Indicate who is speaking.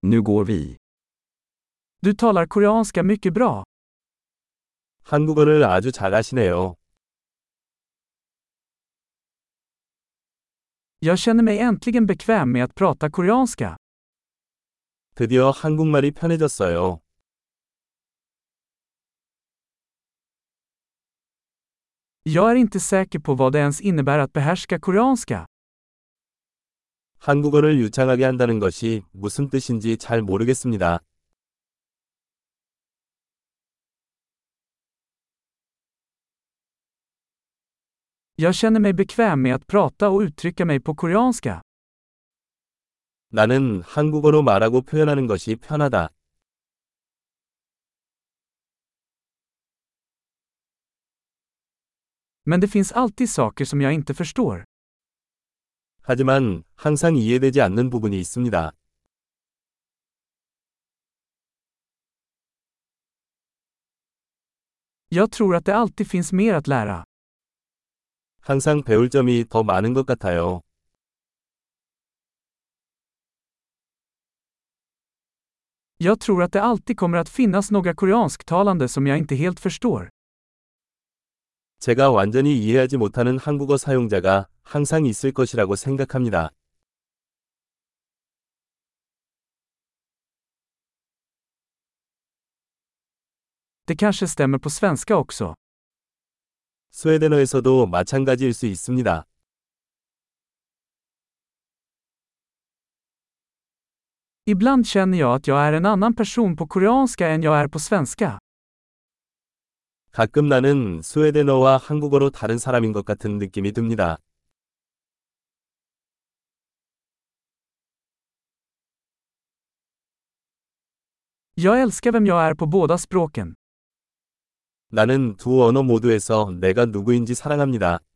Speaker 1: Nu går vi.
Speaker 2: Du talar koreanska mycket bra.
Speaker 3: 한국어를 아주 잘하시네요.
Speaker 2: Jag känner mig äntligen bekväm med att prata koreanska.
Speaker 3: 드디어 한국말이 편해졌어요.
Speaker 2: Jag är inte säker på vad det ens innebär att behärska koreanska.
Speaker 3: 한국어를 유창하게 한다는 것이 무슨 뜻인지 잘 모르겠습니다.
Speaker 2: Jag känner mig bekväm med att prata och uttrycka mig på koreanska.
Speaker 3: 나는 한국어로 말하고 표현하는 것이 편하다.
Speaker 2: Men det finns alltid saker som jag inte förstår.
Speaker 3: 하지만 항상 이해되지 않는 부분이 있습니다.
Speaker 2: Jag tror att det alltid finns mer att lära.
Speaker 3: 항상 배울 점이 더 많은 것 같아요.
Speaker 2: Jag tror att det alltid kommer att finnas några koreansktalande som jag inte helt förstår.
Speaker 3: 제가 완전히 이해하지 못하는 한국어 사용자가 항상 있을 것이라고 생각합니다.
Speaker 2: Det kanske stämmer på svenska också.
Speaker 3: 스웨덴어에서도 마찬가지일 수 있습니다.
Speaker 2: Ibland känner jag att jag är en annan person på koreanska än jag är på svenska.
Speaker 3: 가끔 나는 스웨덴어와 한국어로 다른 사람인 것 같은 느낌이 듭니다.
Speaker 2: Jag älskar vem jag är på båda språken.
Speaker 3: 나는 두 언어 모두에서 내가 누구인지 사랑합니다.